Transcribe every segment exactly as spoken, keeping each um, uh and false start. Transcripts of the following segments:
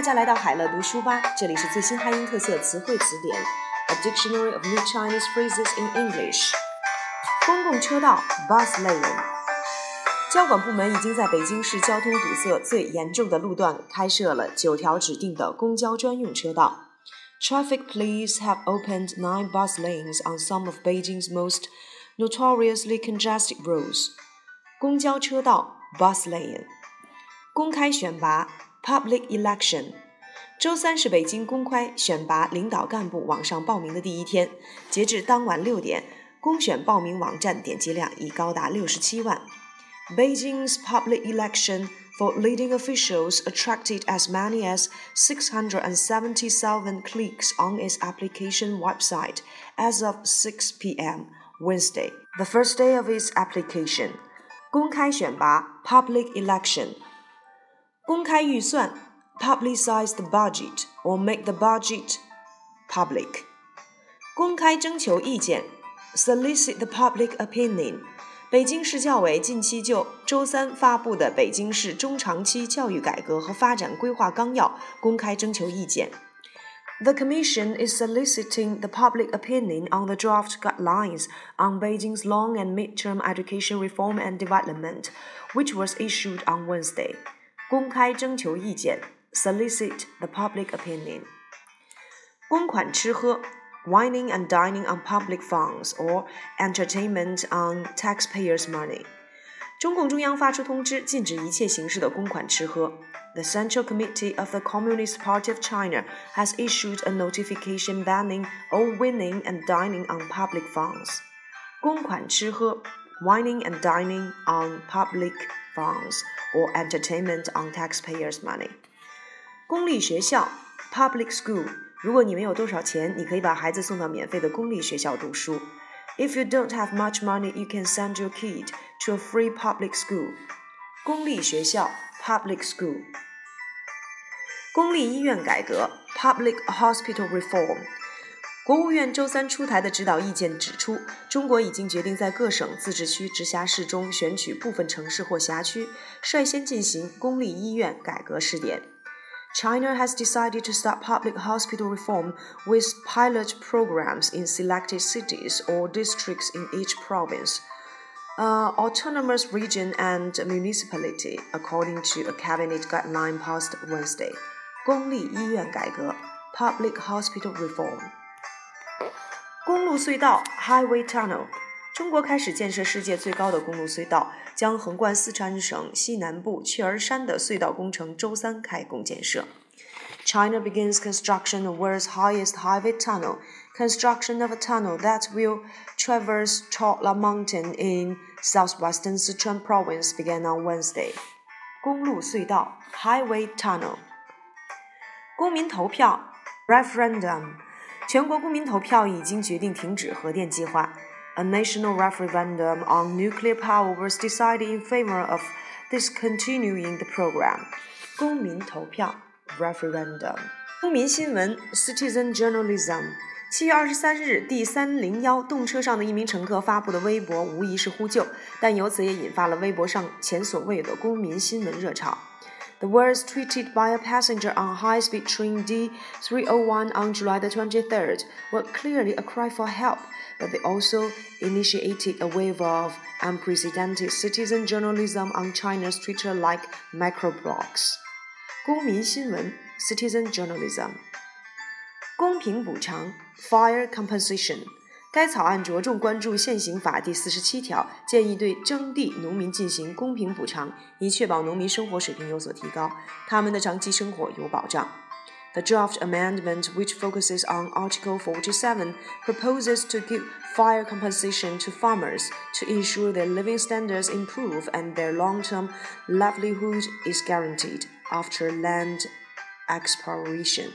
家来到海乐读书吧，这里是最新汉音特色词汇词典 A Dictionary of New Chinese Phrases in English。 公共车道 Bus lane。 交管部门已经在北京市交通堵塞最严重的路段开设了九条指定的公交专用车道。 Traffic police have opened nine bus lanes on some of Beijing's most notoriously congested roads。 公交车道 Bus lane。 公开选拔 Public election。 周三是北京公开选拔领导干部网上报名的第一天，截至当晚六点，公选报名网站点击量已高达六十七万。 Beijing's public election for leading officials attracted as many as six hundred seventy thousand clicks on its application website as of six p.m. Wednesday, the first day of its application. 公开选拔 Public election。 公开预算 Publicize the budget or make the budget public。 公开征求意见 Solicit the public opinion。 北京市教委近期就周三发布的北京市中长期教育改革和发展规划纲要公开征求意见。 The Commission is soliciting the public opinion on the draft guidelines on Beijing's long and mid-term education reform and development, which was issued on Wednesday. 公开征求意见 Solicit the public opinion。 公款吃喝 Wining and dining on public funds or entertainment on taxpayers' money。 中共中央发出通知，禁止一切形式的公款吃喝。 The Central Committee of the Communist Party of China has issued a notification banning all winning and dining on public funds。 公款吃喝 Wining and dining on public funds or entertainment on taxpayers' money。 公立学校 Public school。 如果你没有多少钱，你可以把孩子送到免费的公立学校读书。 If you don't have much money, you can send your kid to a free public school。 公立学校 Public school。 公立医院改革 Public hospital reform。 国务院周三出台的指导意见指出，中国已经决定在各省、自治区、直辖市中选取部分城市或辖区，率先进行公立医院改革试点。China has decided to start public hospital reform with pilot programs in selected cities or districts in each province, uh, autonomous region and municipality, according to a cabinet guideline passed Wednesday. 公立医院改革 Public hospital reform。 公路隧道 Highway tunnel。 中国开始建设世界最高的公路隧道，将横贯四川省西南部雀儿山的隧道工程周三开工建设。 China begins construction of world's highest highway tunnel. Construction of a tunnel that will traverse Chola Mountain in southwestern Sichuan province began on Wednesday. 公路隧道 Highway tunnel。 公民投票 Referendum。 全国公民投票已经决定停止核电计划。A national referendum on nuclear power was decided in favor of discontinuing the program. 公民投票 Referendum。 公民新闻 Citizen journalism。 七月二十三日，第三零一动车上的一名乘客发布的微博无疑是呼救，但由此也引发了微博上前所未有的公民新闻热潮。The words tweeted by a passenger on high-speed train D three oh one on July the twenty-third were clearly a cry for help, but they also initiated a wave of unprecedented citizen journalism on China's Twitter-like microblogs. 公民新闻 Citizen journalism。 公平补偿 Fair compensation。 该草案着重关注现行法第四十七条，建议对征地农民进行公平补偿，以确保农民生活水平有所提高，他们的长期生活有保障。 The draft amendment, which focuses on Article forty-seven, proposes to give fair compensation to farmers to ensure their living standards improve and their long-term livelihood is guaranteed after land expropriation.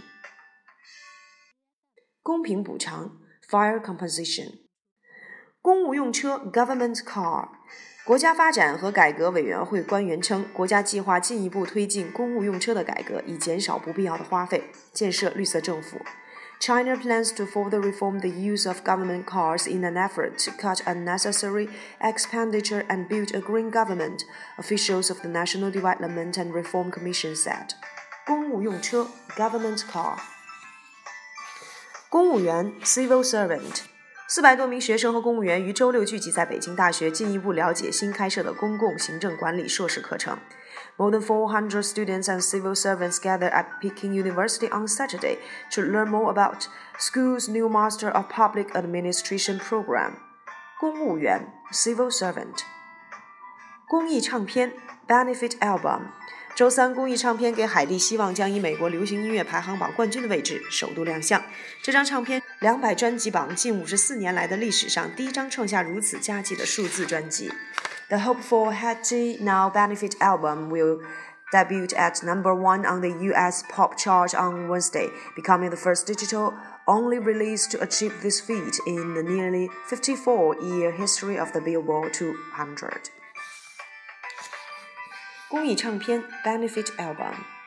公平补偿Fire compensation。 公务用车 Government car。 国家发展和改革委员会官员称，国家计划进一步推进公务用车的改革，以减少不必要的花费，建设绿色政府。 China plans to further reform the use of government cars in an effort to cut unnecessary expenditure and build a green government, officials of the National Development and Reform Commission said. 公务用车 government car。公务员 civil servant。四百多名学生和公务员于周六聚集在北京大学，进一步了解新开设的公共行政管理硕士课程。More than four hundred students and civil servants gathered at Peking University on Saturday to learn more about school's new Master of Public Administration program. 公务员 civil servant。公益唱片 benefit album。周三，公益唱片给海蒂希望将以美国流行音乐排行榜冠军的位置首度亮相。这张唱片两百专辑榜近五十四年来的历史上第一张创下如此佳绩的数字专辑。The Hope for Hattie Now Benefit Album will debut at number one on the U S pop chart on Wednesday, becoming the first digital-only release to achieve this feat in the nearly fifty-four-year history of the Billboard two hundred. 公益唱片 Benefit Album